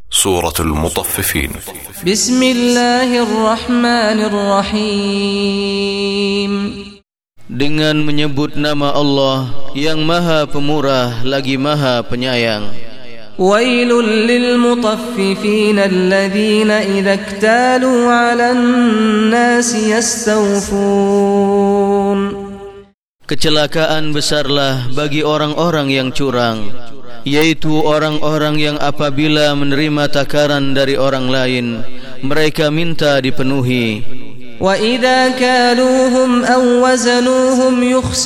Suratul Mutaffifin. Bismillahirrahmanirrahim. Dengan menyebut nama Allah yang Maha Pemurah lagi Maha Penyayang. Wailul lil mutaffifin alladhina idza iktalu 'alan nasi yastawfun. Kecelakaan besarlah bagi orang-orang yang curang, yaitu orang-orang yang apabila menerima takaran dari orang lain, mereka minta dipenuhi. Wa idza kaluhum aw wazanuhum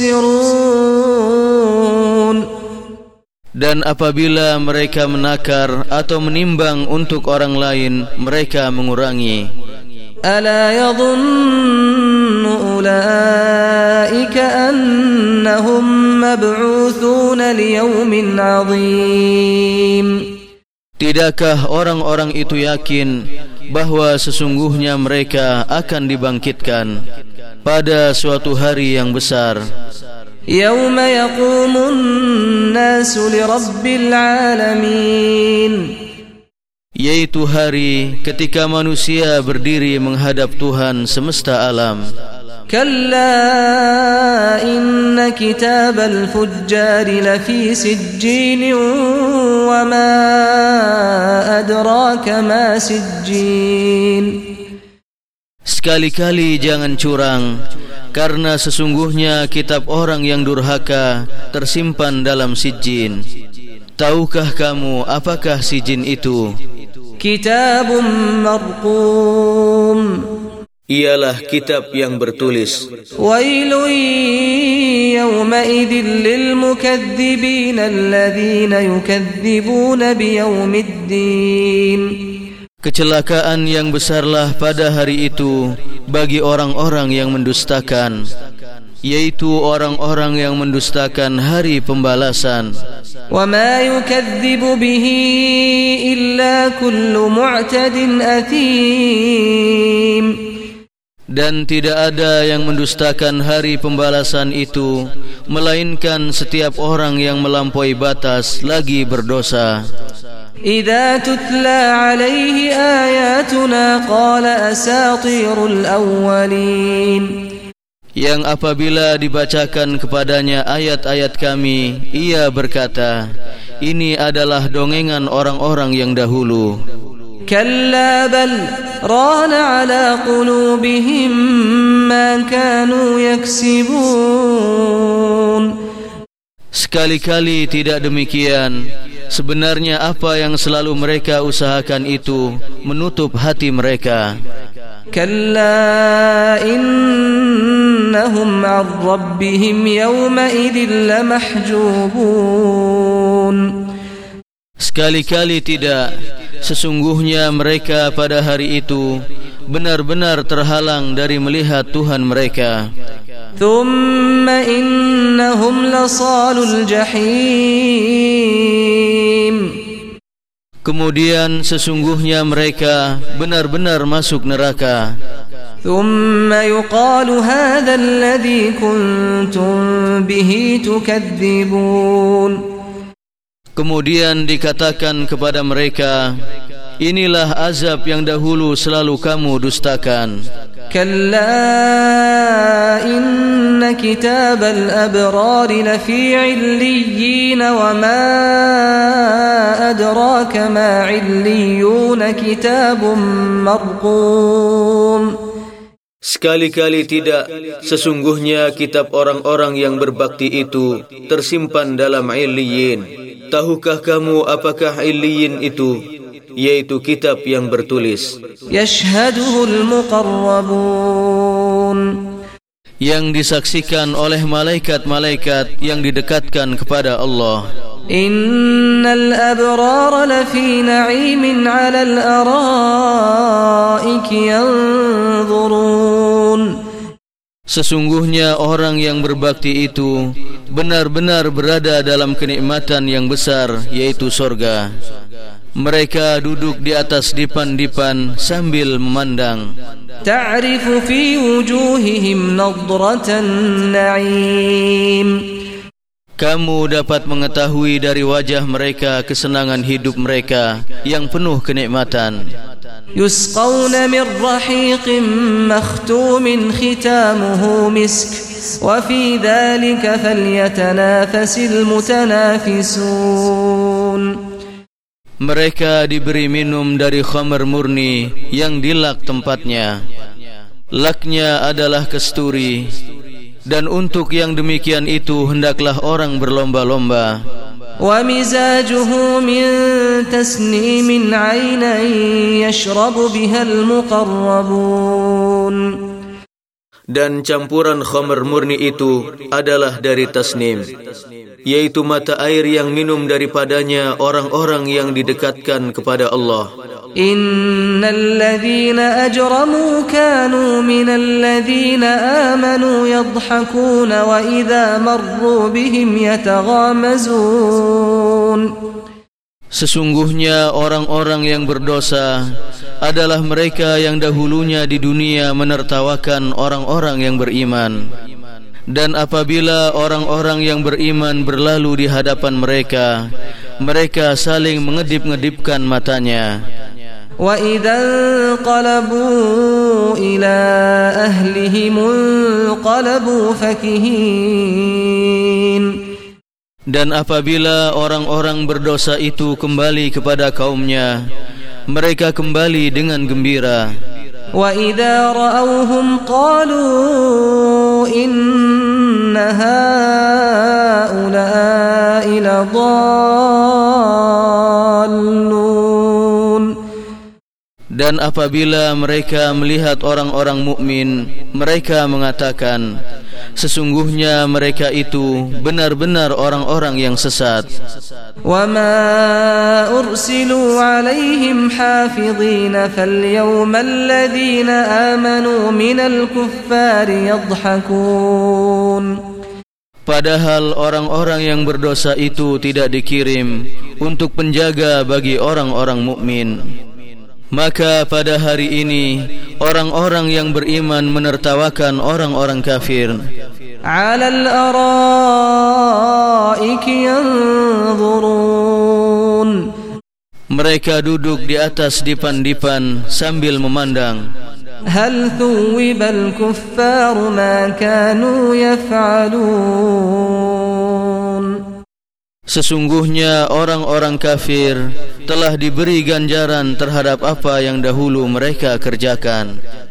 yukhsirun. Dan apabila mereka menakar atau menimbang untuk orang lain, mereka mengurangi. Ala yadhunnu ulaika annahum mab'uthuna liyawmin 'azim. Tidakkah orang-orang itu yakin bahwa sesungguhnya mereka akan dibangkitkan pada suatu hari yang besar? Yawma yaqumun nasu lirabbil alamin. Yaitu hari ketika manusia berdiri menghadap Tuhan semesta alam. Kalla inna kitabal fujjari lafi sijjin wa ma adraka ma sijjin. Sekali-kali jangan curang, karena sesungguhnya kitab orang yang durhaka tersimpan dalam sijjin. Tahukah kamu apakah sijjin itu? Kitabun marqum. Ialah kitab yang bertulis. Wailun yawma idzin lil mukadzibin alladzina yukadzibuna biyaumiddin. Kecelakaan yang besarlah pada hari itu bagi orang-orang yang mendustakan, yaitu orang-orang yang mendustakan hari pembalasan. Wa ma yukadzibu bihi illa kullu mu'tadin athim. Dan tidak ada yang mendustakan hari pembalasan itu melainkan setiap orang yang melampaui batas lagi berdosa. Idza tutla alaihi ayatuna qala asatirul awwalin. Yang apabila dibacakan kepadanya ayat-ayat kami, ia berkata, ini adalah dongengan orang-orang yang dahulu. Kalla bal rana ala qulubihim ma kanu yaksibun. Sekali-kali tidak demikian. Sebenarnya apa yang selalu mereka usahakan itu menutup hati mereka. Kalla innahum 'an rabbihim yawma idzin lamahjubun. Sekali-kali tidak. Sesungguhnya mereka pada hari itu benar-benar terhalang dari melihat Tuhan mereka. Thumma innahum lasalul jahim. Kemudian sesungguhnya mereka benar-benar masuk neraka. Thumma yuqalu hadha alladhi kuntum bihi tukadzibun. Kemudian dikatakan kepada mereka, inilah azab yang dahulu selalu kamu dustakan. Kalla inna kitabal abrari lafi 'illiyyin wa ma adraka ma 'illiyun kitabun marqum. Sekali-kali tidak, sesungguhnya kitab orang-orang yang berbakti itu tersimpan dalam 'illiyyin. Tahukah kamu apakah 'illiyyin itu? Yaitu kitab yang bertulis. Yashhaduhul muqarrabun. Yang disaksikan oleh malaikat-malaikat yang didekatkan kepada Allah. Innal abrara lafi na'imin 'alal araiki yanzurun. Sesungguhnya orang yang berbakti itu benar-benar berada dalam kenikmatan yang besar, yaitu surga. Mereka duduk di atas dipan-dipan sambil memandang. Ta'rifu fi wujuhihim nadratan na'im. Kamu dapat mengetahui dari wajah mereka kesenangan hidup mereka yang penuh kenikmatan. Yusqawna min rahiqin makhtumin khitamuhu misk wa fi dhalika falyatanafasil mutanafisun. Mereka diberi minum dari khamar murni yang dilak tempatnya. Laknya adalah kasturi. Dan untuk yang demikian itu hendaklah orang berlomba-lomba. Wa mizajuhu min tasnimin 'aynan yashrabu biha al-muqarrabun. Dan campuran khamar murni itu adalah dari tasnim, yaitu mata air yang minum daripadanya orang-orang yang didekatkan kepada Allah. Innal ladzina ajramu kanu minal ladzina amanu yadhhakuna wa idza marru bihim yataghamazun. Sesungguhnya orang-orang yang berdosa adalah mereka yang dahulunya di dunia menertawakan orang-orang yang beriman. Dan apabila orang-orang yang beriman berlalu di hadapan mereka, mereka saling mengedip-ngedipkan matanya. Wa idza qalabu ila ahlihim qalabu fakihin. Dan apabila orang-orang berdosa itu kembali kepada kaumnya, mereka kembali dengan gembira. Wa idza ra'awhum qalu inna haula'i ladallun. Dan apabila mereka melihat orang-orang mukmin, mereka mengatakan, sesungguhnya mereka itu benar-benar orang-orang yang sesat. Wa ma ursilu alaihim hafidhin falyawma alladhina amanu minal kuffari yadhhakun. Padahal orang-orang yang berdosa itu tidak dikirim untuk penjaga bagi orang-orang mukmin. Maka pada hari ini orang-orang yang beriman menertawakan orang-orang kafir. 'Alal araiki yanzurun. Mereka duduk di atas dipan-dipan sambil memandang. Hal thuwibal kuffaru ma kanu yaf'alun. Sesungguhnya orang-orang kafir telah diberi ganjaran terhadap apa yang dahulu mereka kerjakan.